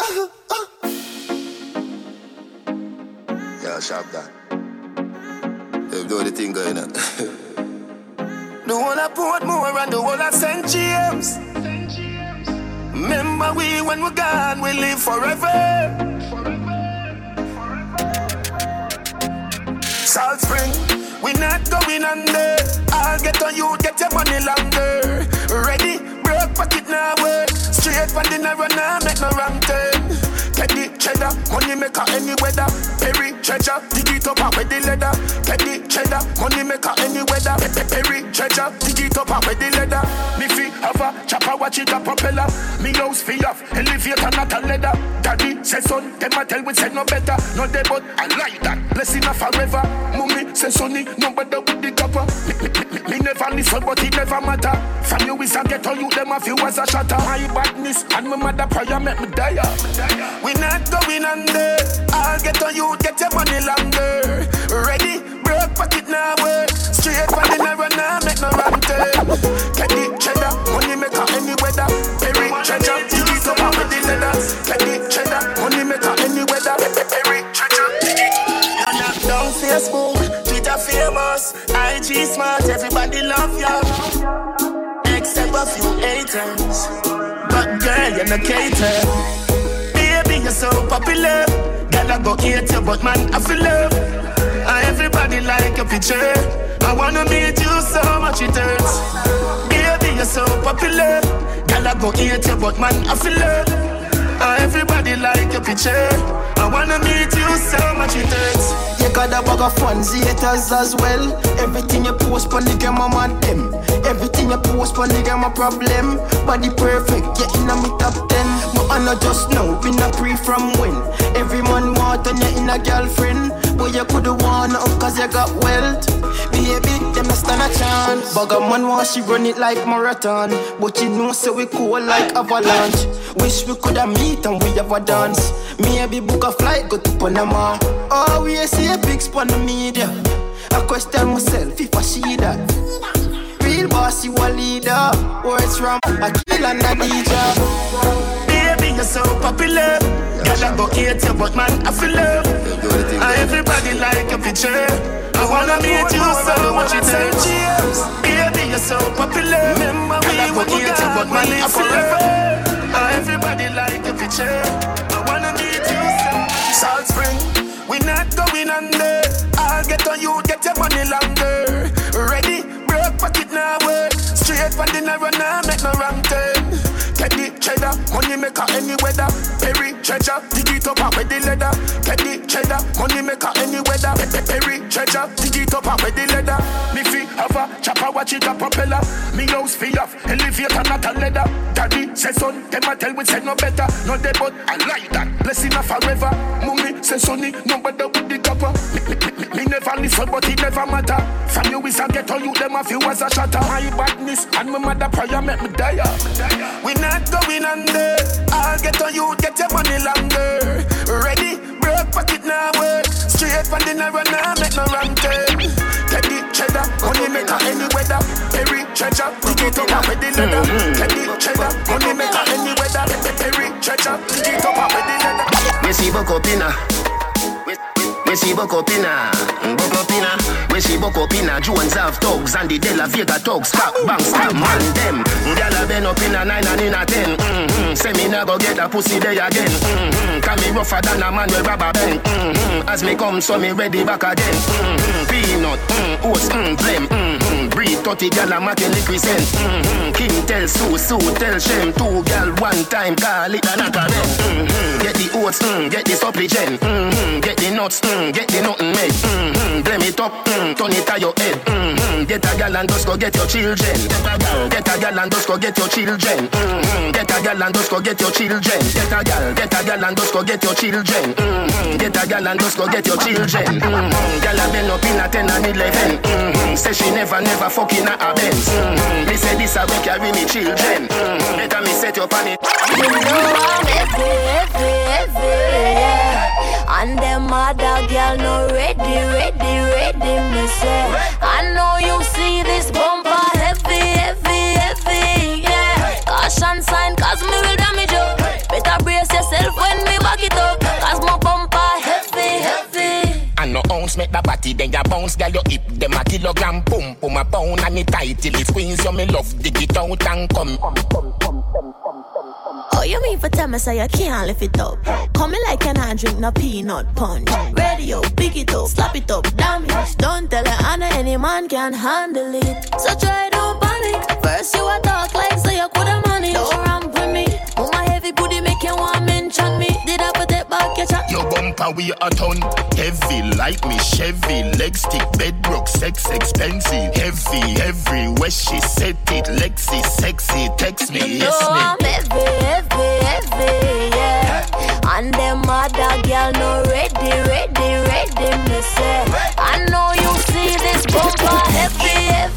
Yeah, sharp guy. They do the thing going on. The one I Portmore and the one I St. James. Remember we when we're gone, we live forever. Salt Spring, we not going under. I'll get on you, get your money longer. Ready, broke pocket now work. Straight from the narrow now, make no wrong turn. Get the cheddar, money maker any weather. Perry treasure, dig it up and with the leather. Get the cheddar, money maker any weather. Perry treasure, dig it up and with the leather. Me fi have a chopper, watch it a propeller. Me house fi off, elevator not a leather. Daddy say son, them a tell we say no better. No they but I like that, blessing a forever. Mummy say sonny, no better with the copper. Me never listen but it never matter. From you is a ghetto, you them a few as a shatter. My badness and my mother prayer make me die. We not going under. I'll get on you, get your money longer. Ready, broke pocket now work. Straight from the narrow now, make no wrong turn. Get the cheddar, money maker any weather. Perry treasure, dig it up with the leather. Get the cheddar, money maker any weather. Perry treasure, dig it. You knock down Facebook, Twitter famous, IG smart, everybody love ya. Except a few haters, but girl you no cater. You're so popular. Girl, I go hate you, but man, I feel love. Everybody like your picture. I wanna meet you so much it hurts. Baby, you're so popular. Girl, I go hate you, but man, I feel love. Everybody like your picture. I wanna meet you so much it hurts. You got a bag of fans, haters as well. Everything you post on the game, I'm on them. Everything you post on the game, a problem. Body perfect, yeah, in a me top 10. But I know just now, been a pre from when. Every man want and you in a girlfriend. But you coulda won up cause you got wealth. Baby, them not stand a chance. Bag a man want she run it like marathon. But you know so we cool like avalanche. Wish we coulda meet and we have a dance. Maybe book a flight, go to Panama. Oh, we see a big spot on the media. I question myself if I see that. Real boss, you a leader. Words from a kill and a DJ. Baby, you're so popular. Girl, I go hate you, but man, I feel love. Everybody like your picture. I wanna meet you so much it hurts. Baby, you're so popular. Remember we go hate you, but man, I feel love. Everybody like your picture. I wanna meet you so. Salt Spring, we not going under. I'll get on you, get your money longer. Ready, broke pocket now work. Straight from the narrow now, make no wrong turn. Get the cheddar, money maker any weather. Perry treasure, dig it up and with the leather. Get the cheddar, money maker any weather. Perry treasure, dig it up and with the leather. Me fi have a chopper, watch it a propeller. Me house fi off, elevator not a leather. Daddy say son, them a tell we say no better. No dead but I like that, blessing a forever. Mummy say sonny, no better with the copper. Me never listen but it never matter. From you is a ghetto, you them a few as a shatter. My badness and my mother prayer make me die. We not going under. I'll get on you, get your money longer. Ready, broke pocket now work. Straight from the narrow now, make no wrong turn. Get the cheddar, money maker any weather. Perry treasure, dig it up and with the leather. Get the cheddar, money maker any weather. Perry treasure, dig it up and with the leather. We see Bokopina. We see Bokopina. Bokopina. We see Bokopina. Jones have thugs and the De La Vega thugs. Stop, bang, stop, man, them. Gyal been up in a 9 and in a 10. Say me nah go get a pussy day again. Can me rougher than a man with rubber band. As me come, so me ready back again. Peanut, oats, blem. Breed 30 gyal a making liquid scent. King tell Sue, Sue tell Shem. 2 gyal one time, call it a knock again. Get the oats, get the supplement. Get the nuts, get the nothing made. Blame it up, turn it to your head. Get a gal and just go get your children. Get a gal and just go get your children. Get a gal and just go get your children. Get a gal and just go get your children. Get a gal and just go get your children. Gal a been up in a 10 and 11. Say she never fucking a Benz. Me say this a go carry me children. Better me set your panic. You know I'm heavy, yeah. And them other girl no ready, me say. I know you see this bumper heavy, yeah. Caution sign, cause me will damage you. Better brace yourself when tighty, then you bounce, girl, your hip. Them a kilogram, boom, boom, a pound and it tight till it squeeze. You me love, dig it out and come. Oh, you mean for tell me so you can't lift it up? Coming like an hand drink, no peanut punch. Radio, pick it up, slap it up, damage. Don't tell her Anna, any man can handle it. So try, don't panic. First you a talk like so you coulda manage. Don't ramp with me. Oh, my heavy booty make you want mention me. Did I put it back your chat? Your bumper we a ton. Heavy like me Chevy. Leg stick, bedrock, sex expensive. Heavy, everywhere she set it. Lexi, sexy, text me, yes me. I'm heavy, yeah. And them other girl no ready, me say. I know you see this bumper heavy.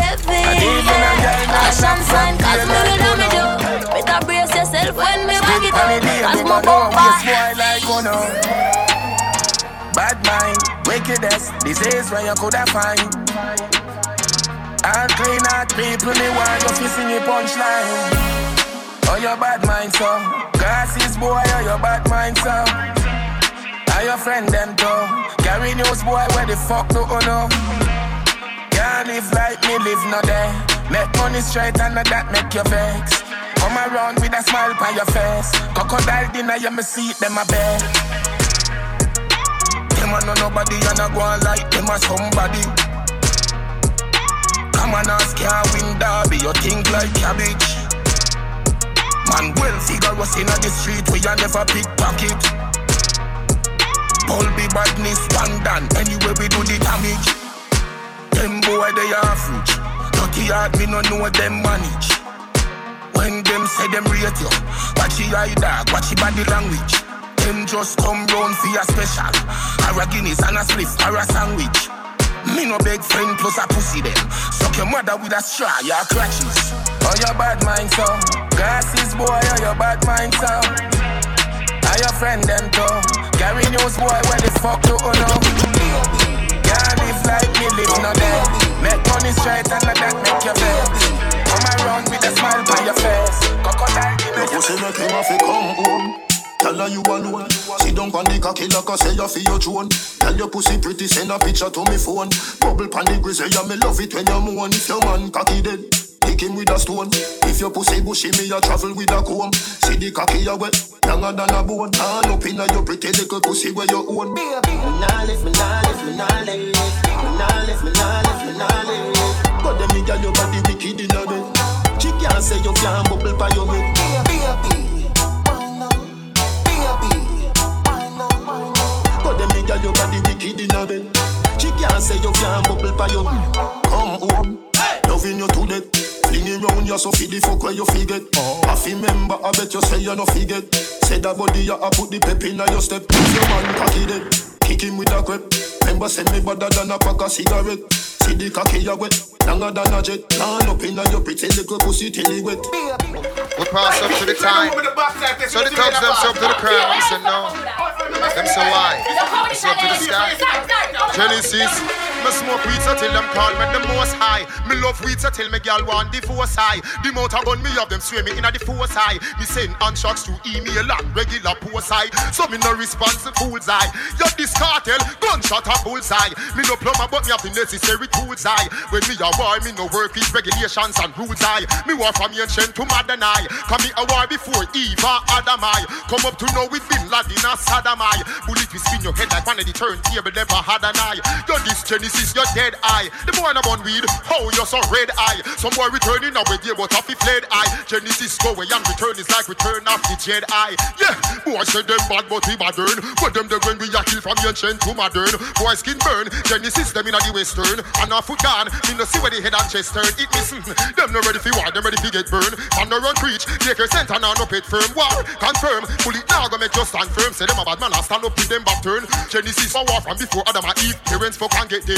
Fashion sign, cause me will do me do. Better brace yourself when me back it up. Cause my bumper bad mind, wickedest, disease where you coulda find. And clean out people, me want you to sing a punchline. Oh, your bad mind, so glasses, boy, oh, your bad mind, so are your friend, them, too. Carry news, boy, where the fuck do you know? Can't live like me, live no day. Make money straight and that make you vex. Come around with a smile on your face. Crocodile dinner, you me see them a bed. Them a know nobody and a go on like them a somebody. Come on, ask can't win derby, you think like cabbage. Man, well figure us in the street where you never pickpocket. Paul be badness, one done, anyway we do the damage. Them boy they average, dirty hard me no know them manage. When them say them rate you, watch your eye dog, watch your body language. Them just come round for your special, or a Guinness and a spliff or a sandwich. Me no beg friend plus a pussy them. Suck your mother with a straw, your crutches. Oh, your bad mind, so glasses, boy, oh, your bad mind, so are your friend, them, too. Carry news, boy, where the fuck do you know? Can't live like me, live no day. Make money straight and that make you vex. Come around with a smile by your face. Crocodile, your pussy make him have to come home. Tell her you alone. Sit down on the cocky like I say you feel your drone. Tell your pussy pretty, send a picture to me phone. Bubble pan the grizzly, yeah, me love it when you moan. If your man cocky dead, kick him with a stone. If your pussy bushy, me a travel with a comb. See the cocky you wet, younger than a bone. All up in your pretty little pussy where you own. Me nah lift. But them me girl your body wicked in a bed. She can't say you can't bubble by your head. But them me girl your body wicked in a bed. She can't say you can't bubble by your head. Come home, loving you to death. Flinging round you so feed the fuck where you forget. I remember, I bet you say you no forget. Say that body you a put the pep in your step. If your man cocky dead, kick him with a grip. Remember send me better than a pack of cigarette. See the cocky you wet, longer than a jet. Turn up in your pretty little pussy till it wet. We pass up to the time. So the thugs them up to the crown. We say no. Them say why? It's up to the sky. Genesis. Me smoke weed so till them call me the most high. Me love weed so till me girl want the force high. The mouth a gun me have them sway me in a the force high. Me send unshots to email and regular post high. So me no response to fool's eye. You this cartel, gunshot a bullseye. Me no plumber but me have the necessary tools high. When me a war, me no work with regulations and rules high. Me war from ancient to modern eye. Come me a war before Eve or Adam I. Come up to know with Bin Laden or Saddam I. Bullet will spin your head like one of the turntable never had an eye. Yo this Genesis, your dead eye. The boy na born weed, how you so red eye. Some boy returning away there but off the fled eye. Genesis go away and return is like return of the Jedi. Yeah, boy say them bad but we modern. But them the when we a kill from ancient to modern. Boy skin burn, Genesis them in the western. And a foot gone, me no see where the head and chest turn. It missing, them no ready for war, them ready for get burned. Man no run preach, take your center now no pet firm. War, confirm, pull it now go make just stand firm. Say them a bad man, I stand up in them back turn. Genesis for war from before Adam and Eve. Parents fuck and get them.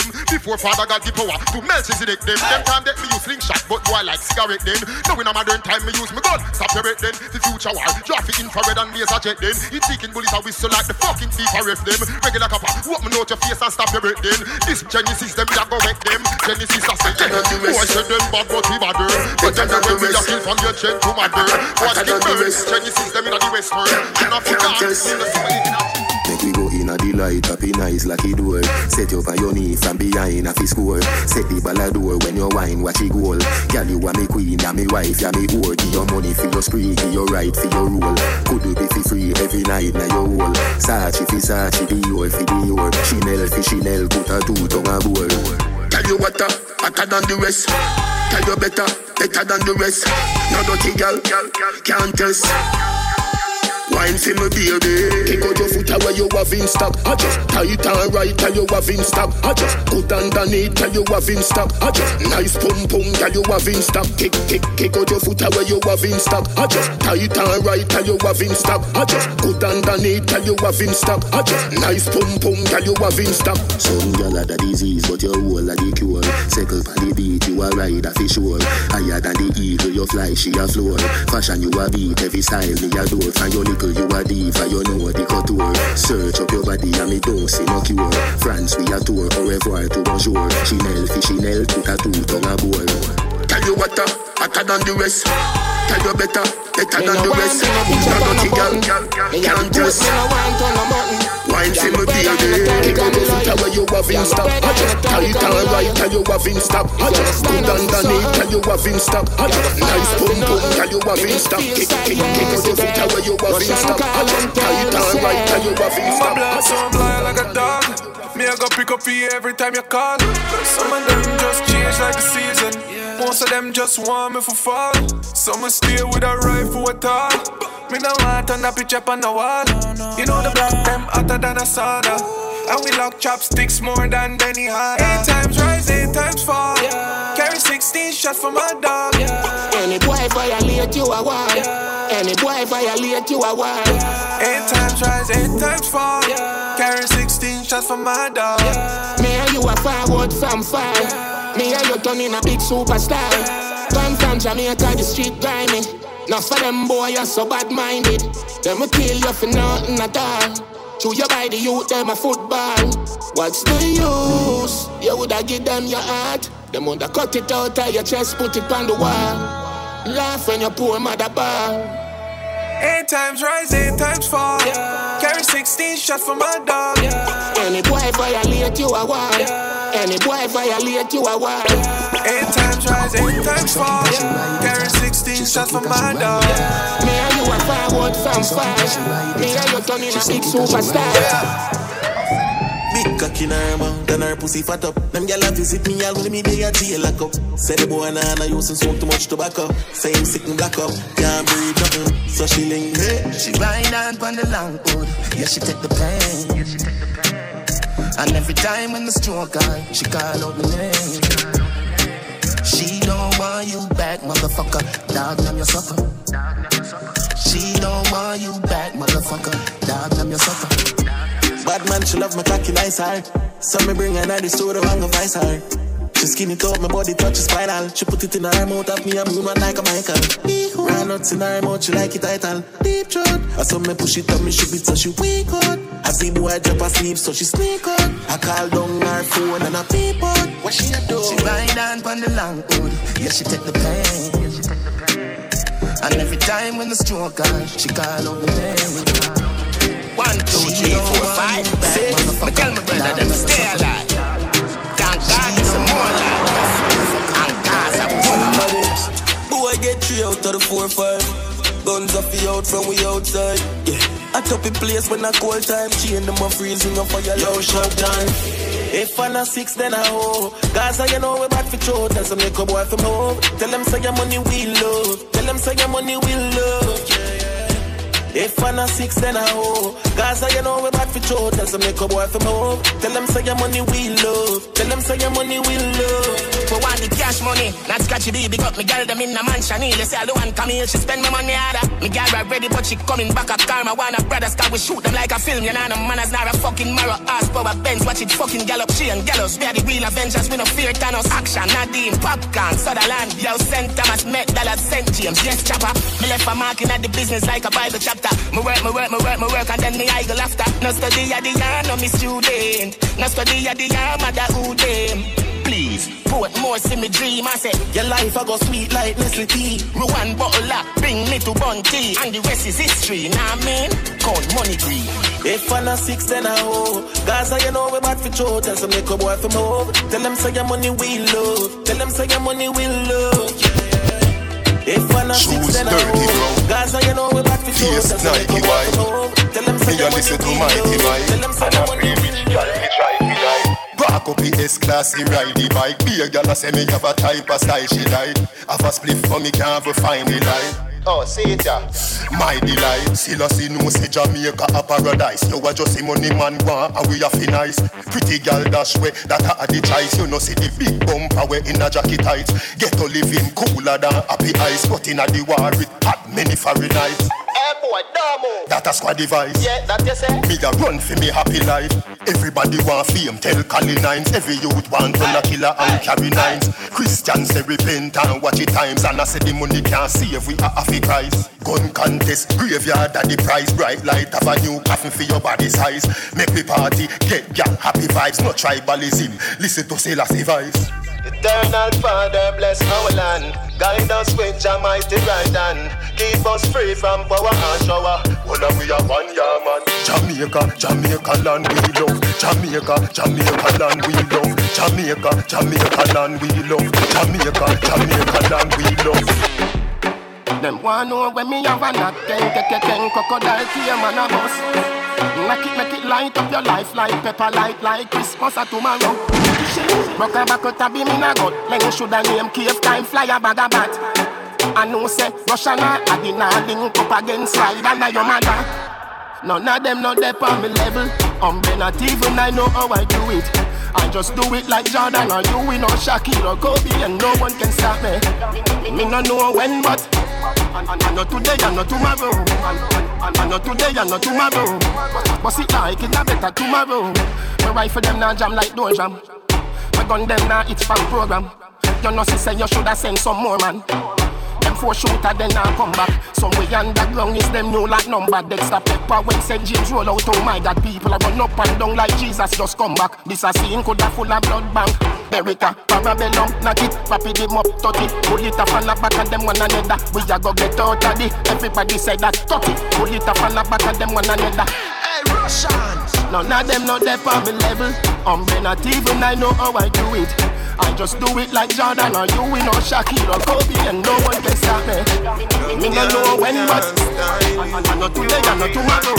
them. Before Father God give power to Melchizedek them. Them time that me use slingshot, but boy like cigarette then. Now in a modern time me use me gun. Separate then, the future war. Traffic infrared and laser jet then. It's seeking bullets a whistle like the fucking FIFA ref them. Regular copper, open out your face and stop your breath then. This Genesis them that go wreck them. Genesis I say, yeah. Boy said them bad but we bad. But then when we are kill from your gen to my girl. Watch the birds, Genesis them in the western. And Africa in the summer. Make we go in a delight, happy nice lucky door. Set you up on your knee from behind a fi score. Set the ballador when you wine, watch it goal. Girl, you are me queen, you me wife, you me whore. Give your money for your spree, give your right for your rule. Could you be for free every night now your whole. Sachi fi Sachi, Dior fi Dior. Chanel fi Chanel, put a two tongue a bowl. Tell you what, hotter than the rest. Tell you better than the rest. No dirty girl, can't test. Wine for me baby. Kick out your foot where you have in stock. I just tight and right till you have in stock. I just put underneath till you have in stock. I just nice pum pum till you have in stock. Kick out your foot where you have in stock. I just tight and right till you have in stock. I just put underneath till you have in stock. I just nice pum pum till you have in stock. Some girl had a disease but your whole a the cure. Circle on the beat you a ride a fish sure. Higher than the eagle you fly she a floor. Fashion you a beat every style me adore. From your little you a diva, you know the couture. Search up your body and me don't see no cure. France we a tour, au revoir to bonjour. Chanel fi Chanel, put a two tongue a bowl. Tell you what, hotter than the rest. Tell you better than the rest. No dirty girl, can't test. Wine for me baby. Kick out your foot where you have in stock. I just tight and right till you have in stock. I just put underneath till you have in stock. I just nice pum pum till you have in stock. Kick out your foot where you have in stock. I just tight and right till you have in stock. My blood so blind like a dog. Me I go pick up for you every time you call. Some of them just change like the season. Most of them just want me for fall. Some will stay with a rifle at all. Me no want on a picture on the wall. You know the black them hotter than a sauna. And we lock chopsticks more than Benny Hanna. 8 times rise, 8 times fall. Carry 16 shots for my dog. Any boy violate you a war. Any boy violate you a war. 8 times rise, 8 times fall. Carry 16 shots for my dog. Me and you are forward from far. Me and you turning a big superstar. Come from Jamaica, the street grimy. Now for them boy, you're so bad-minded. Them will kill you for nothing at all. Chew you by the youth, them a football. What's the use? You woulda give them your heart. Them woulda cut it out of your chest, put it on the wall. Laugh when your poor mother ball. 8 times rise, 8 times fall. Carry 16 shots for my dog. Any boy violate you a war. Any boy violate you a war. 8 times rise, 8 times fall. Carry 16 shots for my dog. Me and you are forward from far. Me and you turning a big superstar. Big cock in her mouth and her pussy fat up. Them gyal a visit me all when me dey a jail lock up. Say the boy nah using smoke too much tobacco. Say him sick and black up, can't breathe nothing. So she link hey. She ride on pon the long hood, yeah she take the pain. And every time when the stroke on, she call out my name. She don't want you back, motherfucker. Dog, I'm your sucker. She don't want you back, motherfucker. Dog, I'm your sucker. Bad man, she love my cocky nice heart. So me bring her to the store and go vice her. She skin it up, my body touch spinal. She put it in her mouth of me and move on like a Michael. Ran nuts in her mouth, she like it title. Deep throat. I saw me push it up, me shoot it so she weak out. I see boy drop asleep so she sneak out. I call down her phone and I peep out. What she a do? She ride on pon the long hood, yeah she take the pain. And every time when the stroke on, she call out the name. 1, 2, 3, 4, 5, 6. But tell my brother them stay alive. Thank God it's some more life. And God's a woman. Boy get 3 out of the 4, 5. Guns off the out from we outside. Yeah. I top in place when I call time. Chain them a freezing up for your low shot time. If I'm not 6 then I hope. Gaza you know we bad for throat. Tell some little boy from home. Tell them say your money we love. Tell them say your money we love. Yeah. If I'm not 6, then I hoe. Gaza, you know we bad for show. Tell some make a boy from home. Tell them say your money we love. Tell them say your money we love. For want the cash money, not scratchy baby. Got me girl them in a mansion. You say I don't want come here, she spend my money harder. Me girl right ready, but she coming back a car. My one of brothers can we shoot them like a film. You know no manners, not a fucking marrow. Ass power Benz, watch it fucking gallop. She and gallows, we are the real Avengers. We no fear Thanos. Action, Nadine, Popcorn, Sutherland. Yo, St. Thomas, Met, Dallas, St. James. Yes, chopper. Me left a marking at the business like a Bible chapter. Me work, and then me idle after. No study at the yarn, no me student. No study at the yarn, mother who them. Please, put more see me dream. I say, your life I go sweet like Nestle tea. One bottle up, bring me to Bunty. And the rest is history, nah man. Count money green. If I'm not 6, then I hoe. Gaza, you know we bad for show. Tell some make a boy from home. Tell them say your money we love. Tell them say your money we love. If I'm not 6, then I hoe. Gaza, you know we bad for show. Tell some make a boy from home. Tell them say your money we love. Tell them say your money we love. Back up the S-Class, he ride the bike. Be a gal a say me have a type of style she like. Have a spliff for me can't find the light. Oh, see it ya. My delight. Still a see no say Jamaica a paradise. You a just a money man want and we a fi nice. Pretty gal dash way that a the choice. You know see the big bumper way in a jacket tights. Get to living cooler than happy ice. But in a the war with hot many Fahrenheit. Hey boy, Damo. That a squad device. Yeah, that you say. Me a run for me happy life. Everybody want fame, tell Cali Nines. Every youth want run a killer and carry nines. Christians say repent and watch it times. And I say the money can't save we are happy Christ. Gun contest, graveyard at the price. Bright light of a new coffin for your body size. Make me party, get gang happy vibes. No tribalism, listen to Selassie voice. Eternal Father bless our land. Guide us with your mighty right hand. Keep us free from power and shower. Well, we are one year man. Jamaica land we love. Jamaica land we love. Jamaica land we love. Jamaica land we love. Them want know when me have a knock. Ken crocodile tear man a bus. Make it light up your life like pepper light like Christmas or tomorrow. Rock a back out a beam in a gut. Then shoulda name cave time fly a bag a bat. I know say Russian a dinner link up against slide under your mother. None of them not there on me level. Not even I know how I do it. I just do it like Jordan or you, we know Shaquille or Kobe, and no one can stop me. Me no know when, but I know today and not tomorrow. I know today and not tomorrow. But it like it a better tomorrow. My rifle them now jam like door jam. My gun them now it's from program. You know say you shoulda send some more man. Them 4 shooter then now come back. Somewhere underground is them new like number. Dexter Pepper when St. James roll out. Oh my God, people are run up and down like Jesus just come back. This a scene coulda full of blood bank. Beretta, Parabellum, knock it, rapid them up, 30. Pull it off and the back of them one another. We a go get out of it. Everybody say that 30. Pull it off and the back of them one another. Hey Russians, none of them not there on me level. Not even I know how I do it. I just do it like Jordan or you, we know Shaquille or Kobe, and no one can stop me. Me no know when, but I know today and not tomorrow.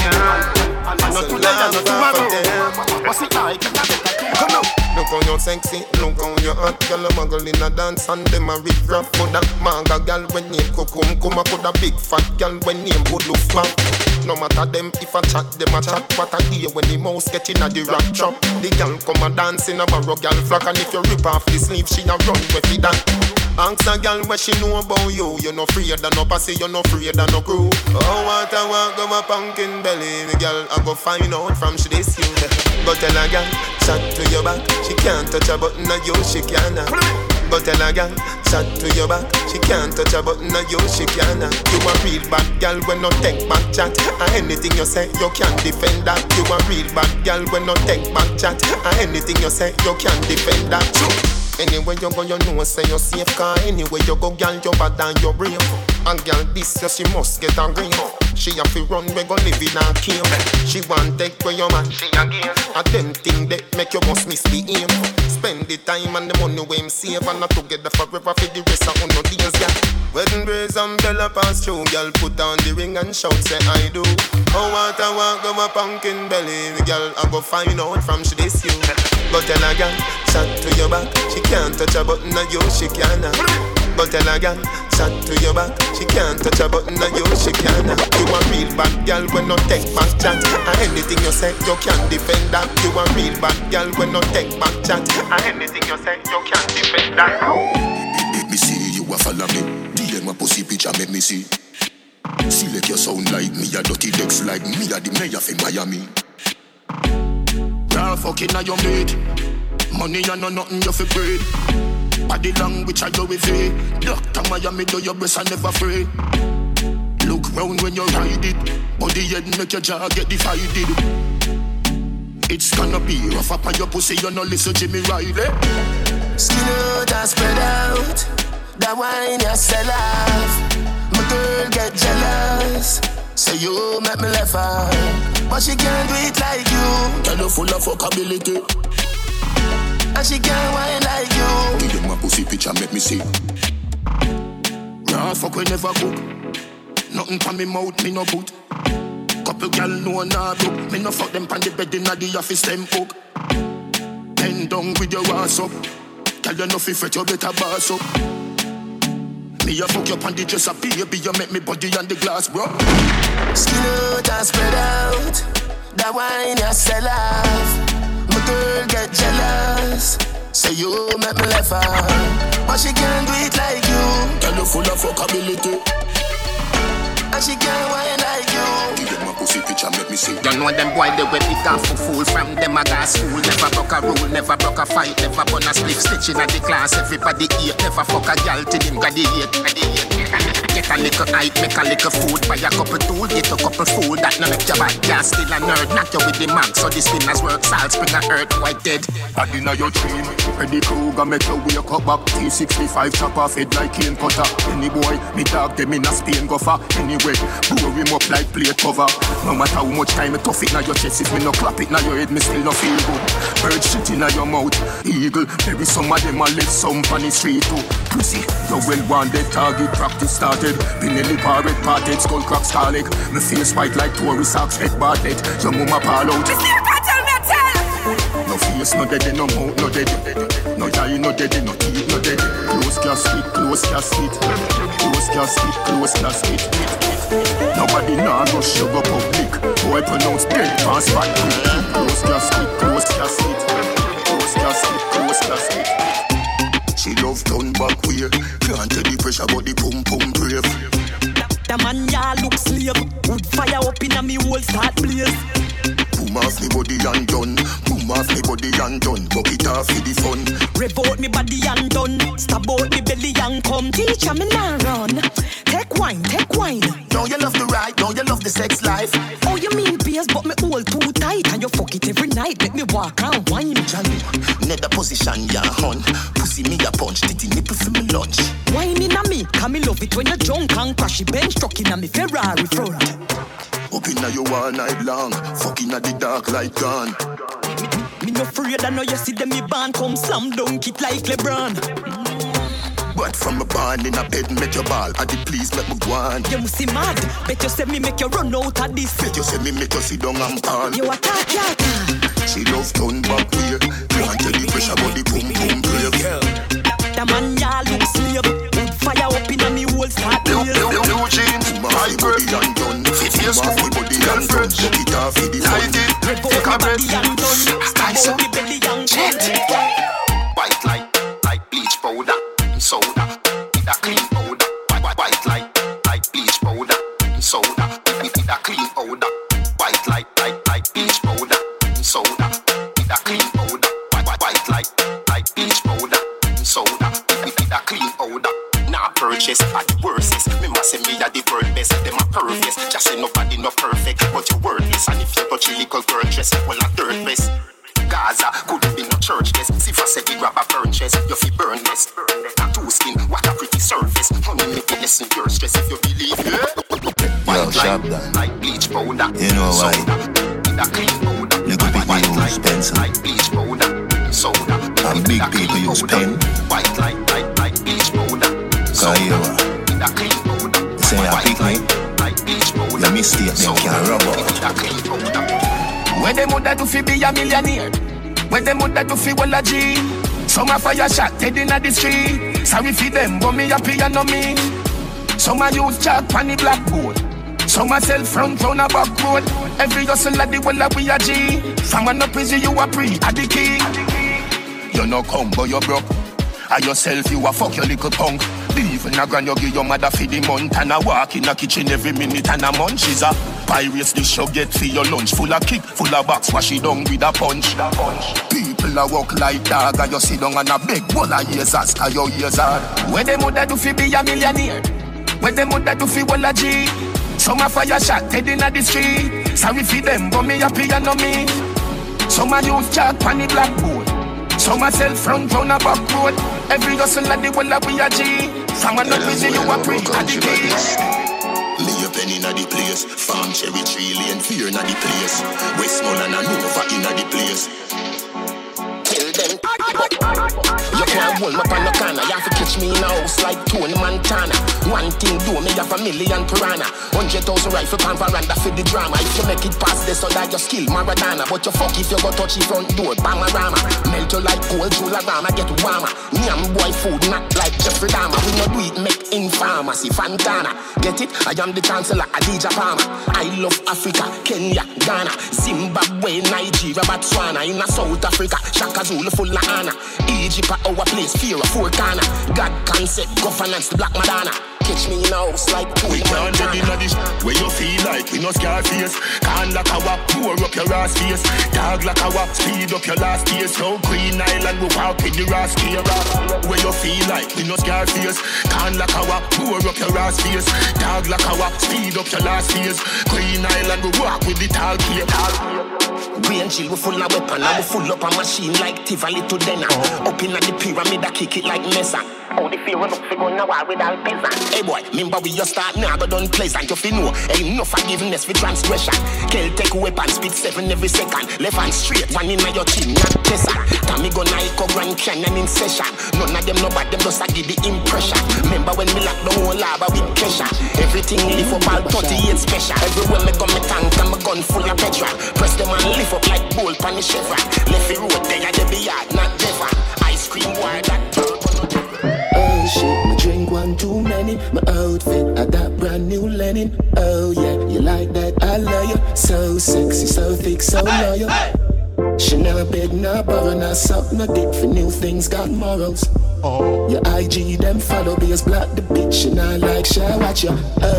I know today and not tomorrow. What's it like? Come on. Look how you're sexy, look how you're hot. Girl, a muggle in a dance and them a rip rap. Coulda manga girl when name Kokum. Coulda big fat girl when name Woodloof man. No matter them if I chat, them a chat. What I hear when the mouse get in a the rap trap. The girl come a dance in a barrow girl flock. And if you rip off the sleeve, she a run with it that. Ask a girl what she know about you. You no afraid of no pussy, you no afraid of no crew. Oh, what I want go my pumpkin belly. The girl I go find out from she this you. Go tell a girl, chat to your back. She can't touch a button of you, she can't. Go tell a girl, chat to your back. She can't touch a button of you, she can't. You a real bad girl when no take back chat. And anything you say, you can't defend that. You a real bad girl when no take back chat. And anything you say, you can't defend that. Anywhere you go, you know say you're safe. Cause anywhere you go, girl, you bad and you brave. And girl, this year she must get a ring. She have to run, we gon' live in a cave. She want take where your man, she again. And them thing that make you must miss the aim. Spend the time and the money we him save. And not together forever for the rest of no days, yeah. Wedding brace and bella pass through. Girl, put on the ring and shout, say I do. Oh, what I want, go my pumpkin belly. The girl, I go find out from she this you. Go tell a girl, chat to your back. She can't touch a button of you, she can't. Go tell a girl, chat to your back. She can't touch a button on you, she can't. You a real bad girl when no take back chat. And anything you say, you can't defend that. You a real bad girl when no take back chat. And anything you say, you can't defend that. Make me see you a follow me. DM a pussy picture, make me see. Select your sound like me, a dirty decks like me, a the mayor from Miami. You're fucking on your mate. Money and no nothing you fi breed. Body language I do with it. Dr. Miami do your best and never afraid. Look round when you ride it. Body head make your jaw get divided. It's gonna be rough up on your pussy, you no listen Jimmy Riley. Skin out and spread out. That wine you sell off. My girl get jealous. Say you make me laugh out. But she can't do it like you. Tell you full of fuckability. And she can't wine like you. Give them a pussy picture, make me see. Raw fuck we never cook. Nothing from me mouth, me no put. Couple gal no nah look. Me no fuck them pan the bed inna the office, them hook. Bend down with your ass up. Tell you no fi fret, you better boss up. Me a fuck you pan the dresser, baby, you make me body on the glass, bro. Skin out and spread out. That wine you sell off. My girl get jealous. Say you make me laugh out. But she can't do it like you. Tell you full of fuckability. And she can't wine like you. Give them a pussy picture, make me see. You know them boy, they wear it off for fool. From them I got school. Never broke a rule, never broke a fight. Never burn a split stitch in the class. Everybody eat. Never fuck a girl till him graduate. Get a little height, make a little food. Buy a couple tool, get a couple food. That no make your bad gas still a nerd. Knock you with the mag, so the spinners work. Salt, spring a earth, white dead. I dinner your dream. Ready Kruger, make you wake up back. T65 chop off head like cane cutter. Any boy, me dog them in a Spain go far. Anyway, blow him up like plate cover. No matter how much time I tough it na your chest. If me no clap it na your head, me still no feel good. Bird shit in your mouth. Eagle, maybe some of them a live some on the street too. Pussy, you well wanted target practice started. Pinelli parrot parted, skull crack scarlet. Me face white like Tory socks, head bartlett. Your mama pal out. No face, no dead, no mouth, no dead. No eye, no dead, no teeth, no dead. Close casket, close casket. Close casket, close casket. Nobody nah rush you go public. Boy pronounce dead, pass back quick. Close casket, close casket. Close casket, close casket. She love turn back way. Can't tell the pressure but the pum pum brave. The man ya look slave. Wood fire up in a me whole start blaze. Boom off me body and done. Boom off me body and done. Bucket off for the fun. Rev out me body and done. Stab out me belly and come. Teacher me nah run. Take wine, take wine. Don't you love the ride? Don't you love the sex life? Oh you mean beers but me hold too tight. And you fuck it every night. Make me walk and wine. Johnny, nether position ya hun. Pussy me a punch. Titty nipple for me lunch. Wine in a me. Can me love it when you're drunk and crash it. Bench truck in a me Ferrari front. Up inna you all night long. Fuck inna the dark light gone. Me no afraid I know you see them me band come slam dunk it like LeBron. But from a band in a bed make your ball. I did please make me go on. You must see mad. Bet you say me make you run out of this. Bet you say me make you sit down and fall. You attack yata. She love turn back way. Can't tell the pressure but the pum pum brave. The man ya look slave. Wood fire up in a me whole start blaze. Blue jeans, my body and done. Fit your school, girlfriend. Look it off for the light it, take a breath. Spice up, jet. White like bleach powder, soda. With a clean powder. White like bleach powder, soda. With a clean powder. White like bleach powder, soda. With a clean powder. White like bleach powder, soda. With a clean powder. Nah purchase at the worstest. Me must say me a the world best. Them a perfect. Just say nobody no perfect, but you worthless. And if you touch a little girl dress, well a third best. Gaza couldn't be no church guest. See if I said it grab a burn chest, you feel burn less. Tattoo skin, what a pretty surface. Honey make you lessen your stress if you believe. Yo, sharp down. Like bleach powder. You know why? With a clean powder. Look up at you use pencil. Like bleach powder. Soda. And big people use pen. White like bleach powder. Cause you are. With a clean powder. Say you pick me. Like bleach powder. Your mistake them can't rub out. With a clean powder. Where them woulda do fi be a millionaire? Where them woulda do fi walla G? Some a fire shot dead inna the street. Sorry fi them, but me happy and no me. Some a use chalk on the blackboard. Some a sell front round a back road. Every hustle at the well a we a G. From an up easy you a pre a the king. You no come but you broke. A yourself you a fuck your little punk. Leave in a grand you give your mother for the month. And a walk in a kitchen every minute and a munch. She's a pirates dish you get for your lunch. Full of kick, full of box, wash it down with a punch. People a walk like dog and you sit down and a big bowl of years ask how your years are. Where them woulda do fi be a millionaire? Where them woulda do fi wall a G? Some a fire shot dead inna the street. Sorry for them but me happy and no me. Some a use chalk on the blackboard. Some a sell front round a back road. Every hustle at the well a we a G. From a not busy you a pre at the keys. Lay a pen inna the place. Farm cherry tree lane fear inna the place. Westmoreland and Nova inna the place. Kill them. You can't hold me up on the corner. You have to catch me in a house like Tony Montana. One thing do me have a million piranha. 100,000 rifle pan veranda for the drama. If you make it past this, so that you skill Maradona. But you fuck if you go touch the front door, Bamarama. Melt you like cold, Jularama, get warmer. Nyam boy food, not like Jeffrey Dahmer. We no do it, make in pharmacy, Fantana. Get it? I am the chancellor, Adidja Palmer. I love Africa, Kenya, Ghana, Zimbabwe, Nigeria, Botswana. In a South Africa, Shaka Zulu full of honor. Egypt at our place, fear of four corner. God concept, governance, the Black Madonna. Catch me in a house like we can't get in this where you feel like we no scar face. Can't like our pour up your ass face. Dog like our speed up your last days. So Queen Island we walk in the ass here. Where you feel like we no scar face. Can't like our pour up your ass face. Dog like our speed up your last days. Queen Island we walk with the tall here. We and chill, we full of weapon and we full up a machine like Tivoli to Denner. Up in the pyramid, I kick it like Mesa. Oh, the fear of us we going to war with all peasant. Hey boy, remember we just start now, but don't pleasant. You feel no, ain't no forgiveness for transgression. Celtic weapon, speed 7 every second. Left hand straight, one in your chin, not Tessa. Tommy go Nike, Grand Canyon in session. None of them know but them just a give the impression. Remember when we lock the whole lava with pressure. Everything lift up all 38 special. Everywhere me go me tank and my gun full of petrol. Press them and lift up like bolt on the chevron. Left the road there, they be yard, not Devon. Ice cream wire that oh shit, me drink one too many. My outfit, I got brand new linen. Oh yeah, you like that, I love you. So sexy, so thick, so loyal. She never beg, no borrow, no suck, no dick for new things, got morals. Your IG, them follow, be as black the bitch. And I like, shall watch you.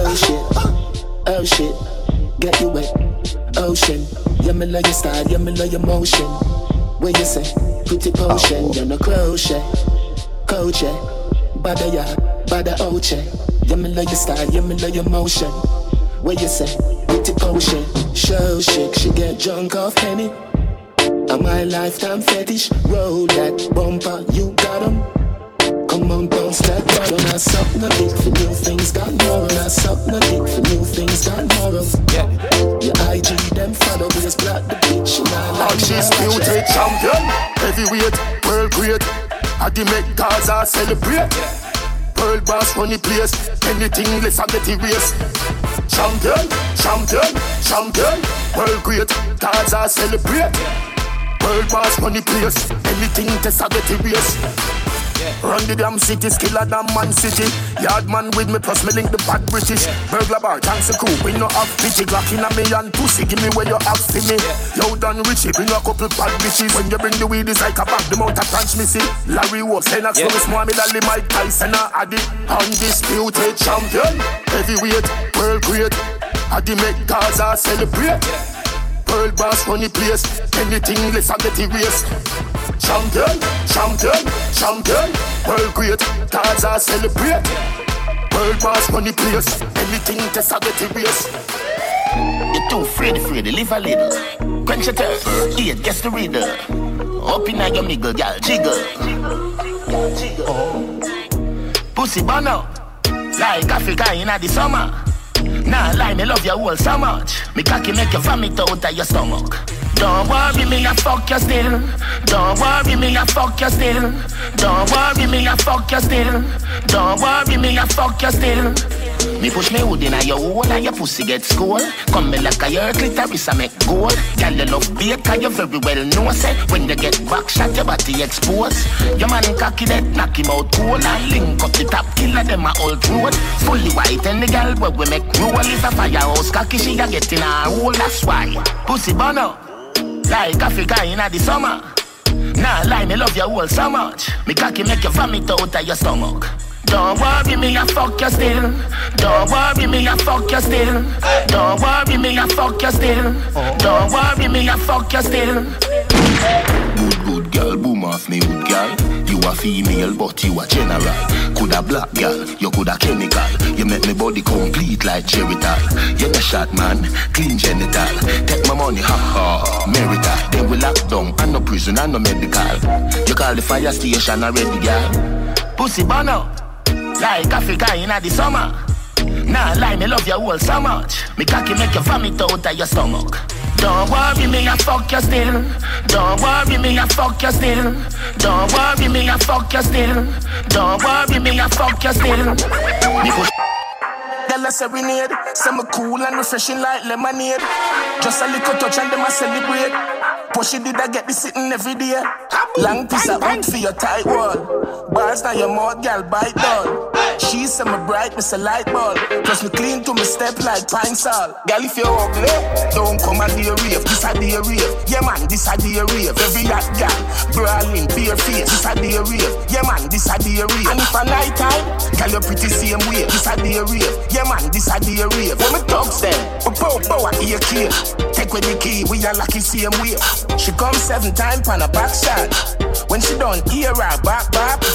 Oh shit, get you wet. Ocean, yeah, me love your style, yeah, me love your motion. What you say? Pretty potion, you're no crochet. Coach, bada ya, bada oche. Yeah, me love your style, yeah, me love your motion. What you say? Pretty potion, show chic, she get drunk off Henny. And my lifetime fetish, roll that bumper, you got 'em. Come on, don't step right on. I suck no dick for new things, got moral. I suck no dick for new things, got morals. Yeah. Your IG, them follow me as black the bitch. And I like she's beauty champion, heavyweight, world great. I the make Gaza celebrate. Pearl boss run the place. Anything less I get erased. Champion, champion, champion. World great, Gaza celebrate. Pearl boss run the place. Anything less I get erased. Run the damn city, skiller than Man City. Yardman with me, plus me link the bad British. Burglar bar, thanks a crew, we no have pity. Glock in a me and pussy, give me where you have for me. Yo done Richie, bring a couple bad bitches. When you bring the weed, it's like a bag, the mouth of transmissy. Larry Wolf, Lennox, Lewis, Mohamed Ali, Mike Tyson, Addy. Undisputed champion, heavyweight, world great. Addy make Gaza celebrate. Pearl boss run the place. Anything less I get erased. Champion, champion, champion. World great, Gaza celebrate. World boss run the place. Anything less I get erased. You're too afraid, live a little. Quench your thirst, eat, guess the reader. Up in your niggle, girl, jiggle. Pussy bono, like Africa in the summer. Nah, lie, me love you all so much. Me cocky make you vomit out of your stomach. Don't worry me, I fuck you still. Don't worry me, I fuck you still. Don't worry me, I fuck you still. Don't worry me, I fuck you still. Me push me hood in a your hole and your pussy get skull. Come me like a your clitoris I make gold. Girl you love bait cause you very well know say when you get back shot your body exposed. Your man cocky that knock him out cool and link up the top killer them a old road. Fully white and the girl where we make roll is a firehouse cocky she a get in a hole. That's why pussy burn up like Africa in the summer. Nah lie me love you all so much. Me cocky make you vomit out of your stomach. Don't worry me, I fuck you still. Don't worry me, I fuck you still. Don't worry me, I fuck you still. Don't worry me, I fuck you still. Good girl, boom off me good girl. You a female but you a general. Coulda black girl, you coulda chemical. You make me body complete like Geritol. You a shot man, clean genital. Take my money, ha ha, Merita. Then we lock down, and no prison and no medical. You call the fire station already girl. Pussy burn up like Africa in the summer. Nah lie, me love you all so much. Me cocky make you vomit out of your stomach. Don't worry me, I fuck you still. Don't worry me, I fuck you still. Don't worry me, I fuck you still. Don't worry me, I fuck you still. Me push. Girl a serenade, say me cool and refreshing like lemonade. Just a little touch and them a celebrate. Pushy did I get this sitting every day. Long piece of wood for your tight wall. Bars now your mouth, girl bite down. She say me bright, me say light ball. Plus me clean to me step like pine salt. Girl if you're ugly, don't come a day rave. This a day rave, yeah man, this a day rave. Every hot girl, brawling, bare face. This a day rave, yeah man, this a day rave. And if a night time, girl you pretty same way. This a day rave, yeah man, this a day rave. When me thugs them, we pow I hear kill. Take with the key, we are lucky same way. She come 7 times on a back shot. When she done, hear her back.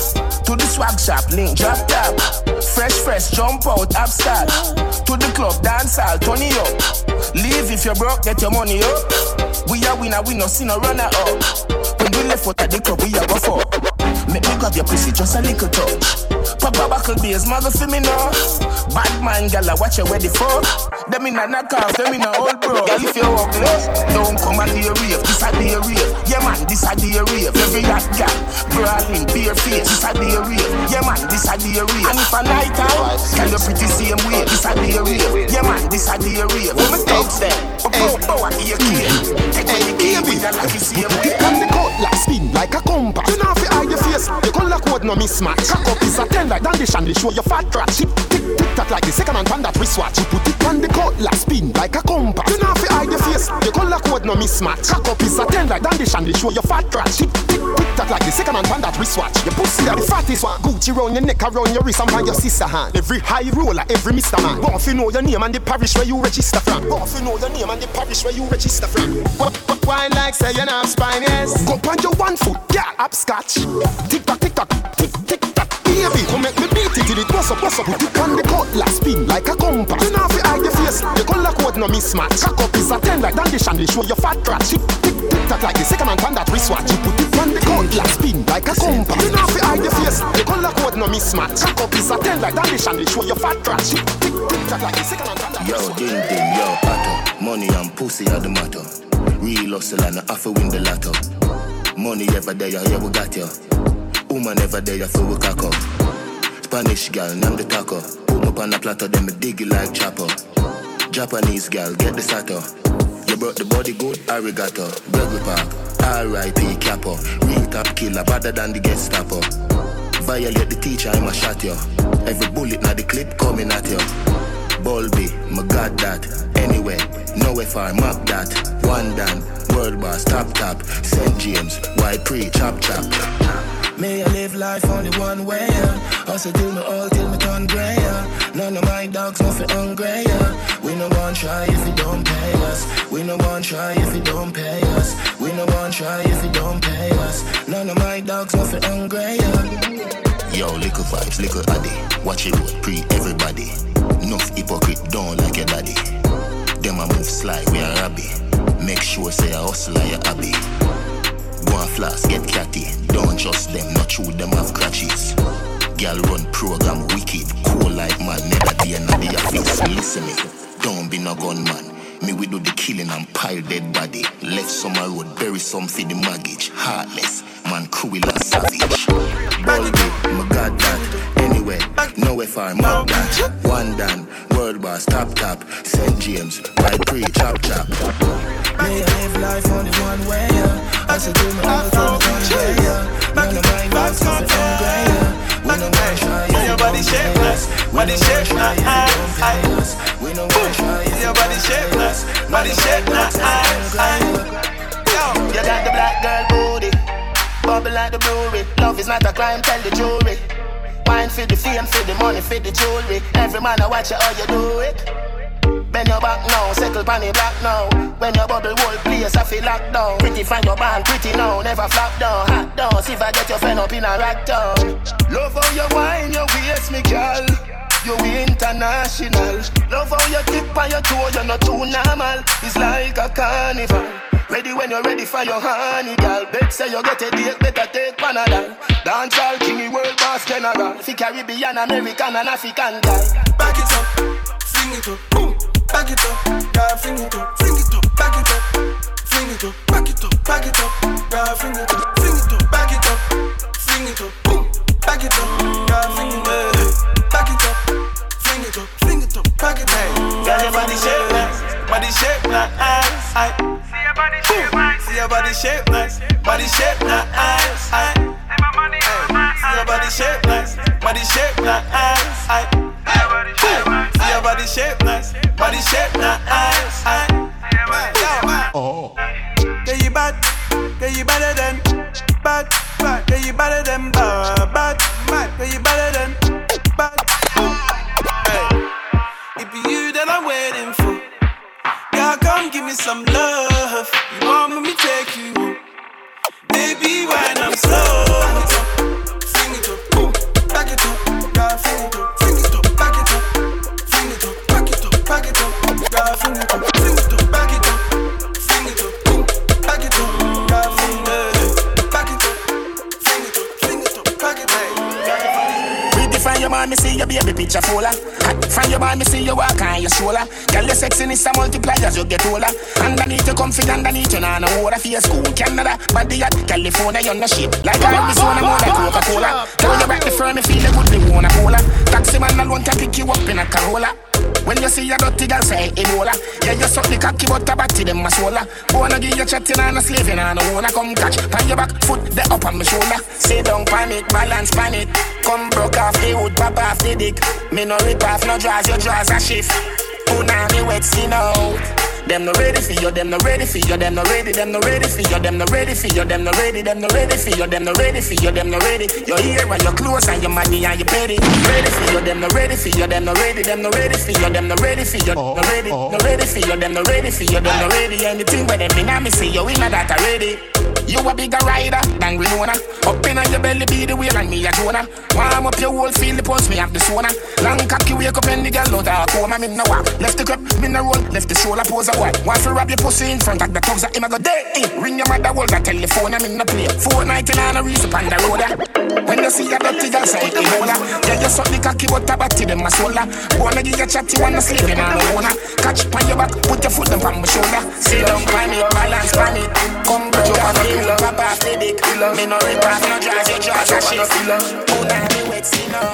To the swag shop, link drop top. Fresh, jump out, upstart. To the club, dance all, turn it up. Leave if you're broke, get your money up. We are winner, we no see no runner up. When we left out at the club, we are go for. Make me grab your pussy, just a little touch. Papa buckle beers, mother for me now. Bad man, gala, watch you ready for. Them in a knock off, them in a old bro. Girl, if you're ugly, don't come a day rave. This a day rave, yeah man, this a day rave. Every hot girl, brawling, bare face. This a day rave, yeah man, this a day rave. And if a night time, girl, you pretty same way. This a day rave, yeah man, this a day rave. When me thugs them, power, hear kill. Take away the key, we a lucky same way. And the cutlass spin like a compass. You know if you hide your face, the color code no mismatch. Cock up is a 10 like dandy shandy, show your fat crotch. Tick tack like the second hand pan that wristwatch. You put it on the cutlass spin like a compass. You know if you hide your face, the color code no mismatch. Cock up is a 10 like dandy shandy, show your fat crotch. Tick tack like the second hand pan that wristwatch. Your pussy are the fattest one. Gucci round your neck, around your wrist, and on your sister hand. Every high roller, every Mr. Man. Want to know your name and the parish where you register from. Want to know your name and the parish where you register from. Wine like say you not spine, yes. Go on your 1 foot, yeah, upscotch. Tick tock, tick tock, tick tock. Baby, come make me beat it till it bust up. Put it on the cutlass spin like a compass. You know if you hide your face, the color code no mismatch. Cock up is a 10 like dandy shandy, show your fat crotch. Tick tack like the second hand pan that wristwatch. You put it on the cutlass spin like a compass. You know if you hide your face, the color code no mismatch. Cock up is a 10 like dandy shandy, show your fat crotch. Tick tack like the second hand pan that wristwatch. Yo, ding, yo, pato. Money and pussy are the matter. Real hustle and I have to win the lotto. Money ever there, yeah, we got you. Woman ever there, so we cock up. Spanish girl, name the taco. Put up on a platter, then me dig it like chopper. Japanese girl, get the sato. You brought the body good, arigato. Burger Park, R.I.P. Capo. Real top killer, better than the Gestapo. Violate the teacher, I'ma shot you. Every bullet now the clip coming at you. Bulby, my god that. Anyway, nowhere far, map that. One down, world boss, top. St. James, white pre, chop. May I live life only one way, hustle till me all, till me turn grey, None of my dogs nothing hungry, We no one try if you don't pay us. We no one try if you don't pay us. We no one try if you don't pay us. None of my dogs nothing hungry, Yo, little vibes, little addy. Watch it road, pre everybody. Enough hypocrite, don't like your daddy. Them a move slide, we are rabbi. Make sure say a hustle like your hobby. Go and flask, get catty. Don't trust them, not true, them have crutches. Girl run program wicked, cool like man, never day in the office. Listen me, don't be no gunman. Me we do the killing and pile dead body. Left summer road, bury some for the mortgage. Heartless, man cruel and savage. Bulby, my god that. Anyway, Anyway, nowhere far, mad that. One done, world boss, top, St. James, right pre, chop. May I live life only one way, yeah. I should do my own thing one way, yeah. None of my girls is the same way, yeah. We no one shy, yeah. Your body shape nice, body shape nice. We no one shy, yeah. Your body shape nice, body shape nice. You got the black girl booty, bubble like the brewery. Love is not a crime, tell the jury. Wine for the fame, for the money, for the jewelry. Every man I watch you how you do it. Bend your back now, settle pan the black now. When your bubble whole place I feel locked down. Pretty find your band, pretty now, never flop down. Hot down, see if I get your friend up in a rack down. Love how you wine, your waist me girl. You international. Love how you tip on your toe, you're not too normal. It's like a carnival. Ready when you're ready for your honey, girl. Bet say you get a date, better take Panadol. Dancehall king, world boss general. Fi Caribbean, American and African guy. Back it up, fling it up, boom. Back it up, girl, fling it up, back it up, fling it up, back it up, girl, fling it up, back it up, fling it up, boom. Back it up, girl, fling it up, back it up, fling it up, back it up. Girl, your body shape nice, body shape nice. See your body shape nice, body shape nice. See your body shape nice, body shape nice. See your body shape nice, body shape nice. Oh. Yeah, you bad, yeah, you better than bad, yeah, you better than bad, yeah, you better than bad. Hey, it be you that I'm waiting for. Girl, come give me some love. You want me to take you home? Baby, when I'm slow. Back it up, fling it up, boom. Back it up, girl, fling it up, fling it up, back it up, fling it up, back it up, back it up, girl, fling it up, fling it up, back it up, fling it up, boom. Back it up, girl, fling it up, back it up, fling it up, fling it up, back it up. Redefine your man, me see your baby picture fuller. From your man, me see you walk on your shoulder. Girl, your sexiness a multiply as you get older. Underneath you comfy, underneath you nah no water. For your school, Canada, body at California, you're no shit. Like Arizona, more like Coca-Cola. Tell you back the firm, me feel the good, they wanna cola. Taxi man alone can pick you up in a Corolla. When you see your dirty girl say Ebola. Yeah, you suck the cocky but a batty them a sola. Wanna give you chatting and a slaving and a wanna come catch. Pan your back foot, the up on my shoulder. Sit down, panic, balance, panic. Come broke off the wood, pop off the dick. Me no rip off, no draws, your draws a shift. Punani wet skin out. Them no ready for you, them no ready for you, them no ready, them no ready for you, them no ready for you, them no ready, them no ready for you, them no ready for you, them no ready. You're here and you're close and your money and your petty. Ready for you, them no ready for you, them no ready, them no ready for you, them no ready for you, no ready, no ready for you, them no ready for you, them no ready. Anything where them in a me see you in a that already. You a bigger rider than Winona. Up in your belly be the wheel and me a Jonah. Warm up your whole feel the pulse, me have the sauna. Long cocky wake up and the girl out of coma. Me no walk, left the crep, me no roll. Left the shoulder pose a while. Want to rub your pussy in front of the thugs that him a go day. Ring your mother, hold that telephone, I'm in the play. 490 and a reason on the road. When you see a dirty girl say Ebola. Yeah, you suck the cocky but a batty them a sola. Wanna give you chat, you wanna sleep in on the owner. Catch on your back, put your foot up on my shoulder. Sit down, pan it, balance, pan it. Come back, you on the hill, pop off the dick. Me no rip off, no draws, your jaws a shift. Punani wet, see now.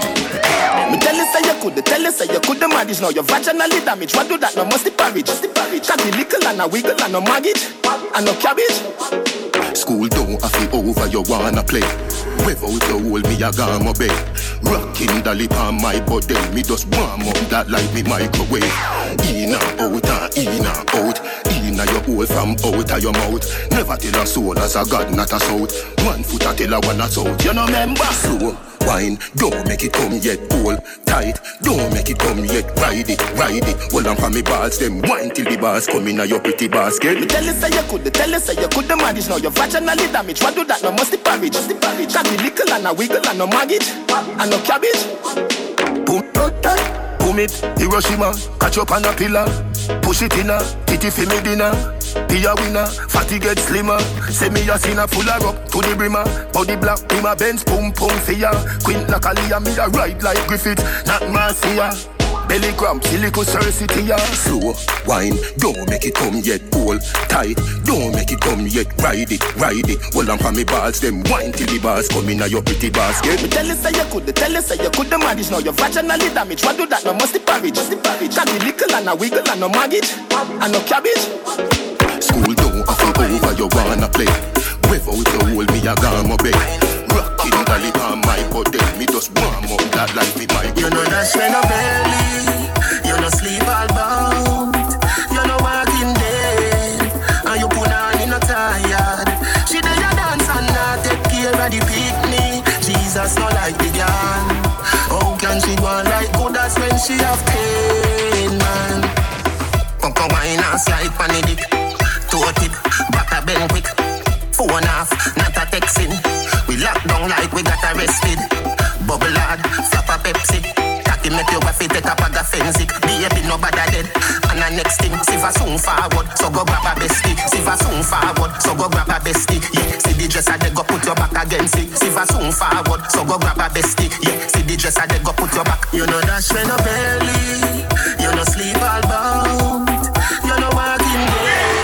Me tell you say you could, tell you say you could the manage. Now your vaginally damage. What do that? No must the porridge. Cut the little and a wiggle and no maggot and no cabbage. School don't have it over, you wanna play. Wave out the hole, me a gamma bay. Rocking the lip on my body. Me just warm up that like me microwave. In and out and in and out. In and your hole from out of your mouth. Never tell a soul as a god, not a south. 1 foot a tell a one a south. You know remember? Slow wine, don't make it come yet. Hold tight, don't make it come yet. Ride it, hold on for me balls. Them wine till the bars come in a your pretty basket. Me tell you say you could, tell you say you could the manage. Now your vaginally damage. What do that? No must the porridge. Cut the little and a wiggle and no maggot and no cabbage. Boom it, Hiroshima, catch up on a pillar. Push it in a, titty for me dinner. Be a winner, fatty get slimmer. Say me a sinner full of up to the brimmer. Body black, be my Benz, pum pum for ya. Queen like Aliyah, me a ride like Griffith, not Marcia. Belly cramp, silico city, yeah. Slow wine, don't make it come yet. Hold tight, don't make it come yet. Ride it, hold on for me balls. Them wine till the bars come in your pretty basket. Me tell you say you could, the manage. Now you're vaginally damaged. What do that? No musty porridge. Can be little and a wiggle and no maggot and no cabbage. School don't have to over, you wanna play. Without you hold me, I got my bed. Rockin' dolly on my body, me just warm up that life with my You know that when no belly, you no sleep all bout. You no walking dead, and you put on in no tired. She do your dance and not take care of the picnic. Jesus no like the girl. How can she go like good as when she have pain, man? Come wine and slide pan the dick. Toe tip, back a bend quick. Phone off, not a texting. We lock down like we got arrested. Bubble hard, flap a Pepsi. Cocky make your wife take a bag of Fenzik. Baby nobody dead. And the next thing, Siva soon forward, so go grab a bestie. Siva soon forward, so go grab a bestie. Yeah, see the dresser they go put your back against it. Siva soon forward, so go grab a bestie. Yeah, see the dresser they go put your back. You know that when no belly, you no sleep all bout. You no walking dead.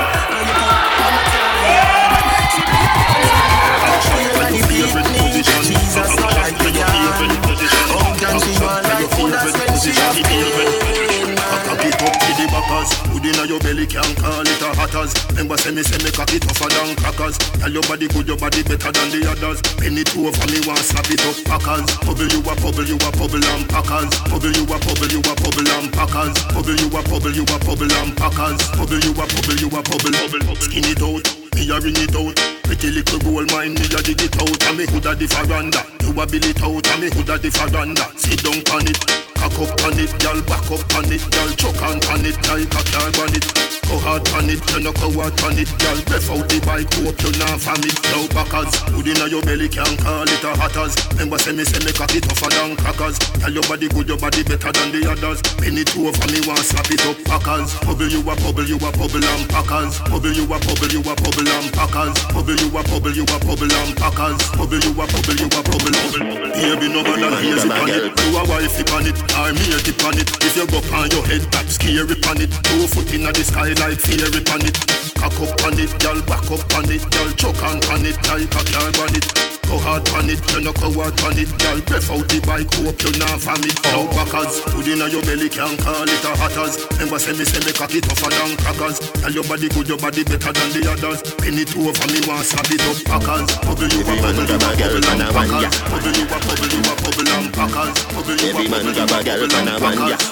Jesus not like the girl. How can she want like food as when she have pain? Cock it up to the backers. Good inna your belly can't call it a hatters. Remember say me cock it tougher than crackers. Tell your body good, your body better than the others. Penny two over me want slap it up packers. Bubble you a bubble and packers. Bubble you a bubble and packers. Bubble you a bubble and packers. Bubble you a bubble. Skin it out. Me a ring it out. Pretty little gold mine, me a dig it out. And me hood a the faranda. You a bill it out. And me hood a the faranda. Sit down on it. Cock up on it, y'all back up on it, y'all choke on it, like a car on it. Go hard on it, you no go hard on it, y'all breath out the bike, hope you not from it. Now backers, good inna your belly can't call it a hatters. Remember say me cock it tougher than crackers. Tell your body good, your body better than the others. Penny two over me want slap it up packers. Bubble you a bubble and packers. Bubble you a bubble and packers. Bubble you a bubble and packers. Bubble you a bubble. Baby no man and here's it on it. You a wifey on it. I'm here to pan it. If you go on your head, that's scary pan it. 2 foot in the sky like fairy pan it. Cock up on it, y'all back up on it, y'all choke on it like a car on it. Go hard on it, you no go hard on it, y'all breath out the bike, hope you not from it. Now backers, good inna your belly can't call it a hatters. Remember say me cock it tougher than crackers. Tell your body good, your body better than the others. Penny two over me want slap it up packers. Bubble you a bubble and packers. Bubble you a bubble and packers. Every man got a girl and a man, yeah.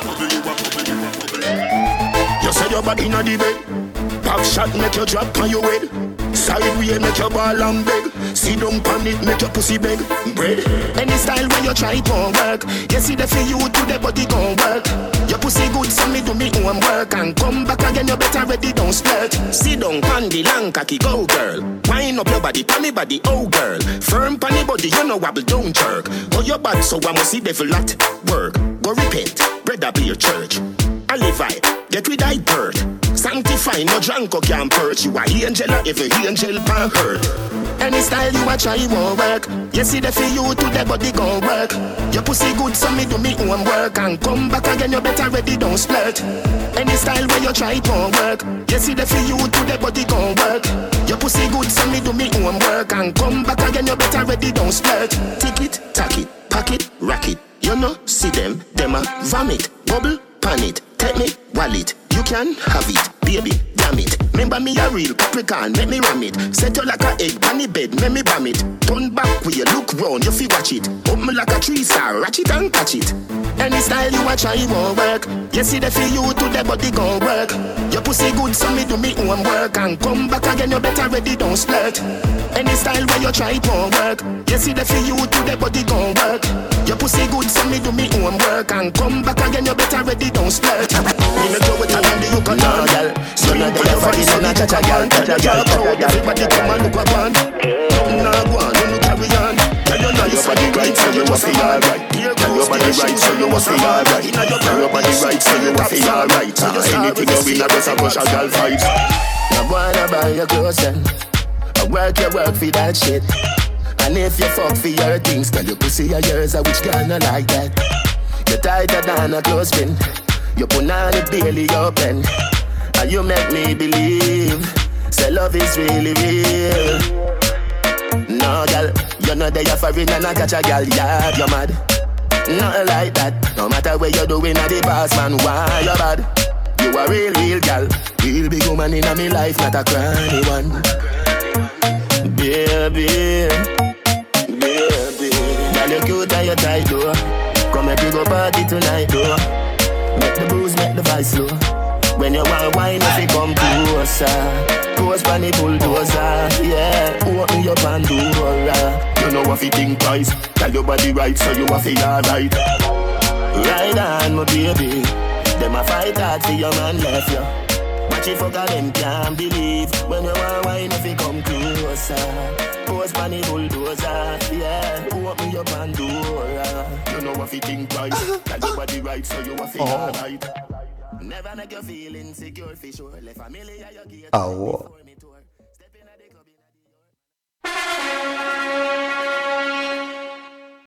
You say your body inna the bed. Pop shot make you drop on your head. Sideway make your ball and beg. Sit down pan it make your pussy beg. Bread. Any style when you try it won't work. You see the for you to the body gon' work. Your pussy good so me do me own work. And come back again you better ready don't splurt. Sit down pan the long cocky go girl. Wind up your body pan me body oh girl. Firm pan the body you know wobble don't jerk. Oh your bad so I must see devil at work. Go repent, brother be your church. Alivai, get rid of bird. Sanctify, no drunk or can't perch. You a angel or every angel pan hurt. Any style you a try won't work. You see the for you to the body gon' work. Your pussy good so me do me own work. And come back again you better ready don't splurt. Any style where you try won't work. You see the for you to the body gon' work. Your pussy good so me do me own work. And come back again you better ready don't splurt. Tick it, tack it, pack it, rack it. You know see them a vomit, bubble, pan it. Take me, wallet, you can have it, baby, damn it. Remember me a real Capricorn, make me ram it. Set you like a egg on the bed, make me bam it. Turn back when you look round, you feel watch it. Up me like a 3-star, ratchet and catch it. Any style you a try won't work. You see the for you to the body gon' work. Your pussy good so me do me own work. And come back again you better ready don't splurt. Any style where you try won't work. You see the for you to the body gon' work. Your pussy good so me do me own work. And come back again you better ready don't splurt. Me make you with a man you can know, girl. So now they have a son of cha-cha, girl. Girl crowd, everybody come and look up on. Nothing now go on, don't carry on. Tell you now your body right, so you must feel alright. Tell your body right, so you must feel alright. Tell your body right, so you must feel alright. Anything you win, I just a rush a girl vibes. I wanna buy your clothes then. I work for that shit. And if you fuck for your things, tell your pussy are yours, I which girl not like that. You're tighter than a clothespin. You put on it barely open. And you make me believe say love is really real. No, girl, you know they are foreign and I catch a girl, yeah, you're mad. Nothing like that. No matter what you're doing at the boss, man, why you're bad? You a real girl. Real big woman in my life, not a cranny one. Baby. Girl, you cute and you tight, though. Come make you go party tonight, though. Make the booze, make the vice slow. When you want wine, if you come closer. Close by the bulldozer, yeah. Open your Pandora. You know what you think twice. Tell your body right, so you have to be alright. Ride on, my baby. Them a fight hard for your man left you. Watch it fuck them can't believe. When you want wine, if you come closer. Close by the bulldozer, yeah. Open your Pandora. You know what you think twice. Tell your body right, so you have to be alright. Never make you feel insecure for sure. Familiar you get.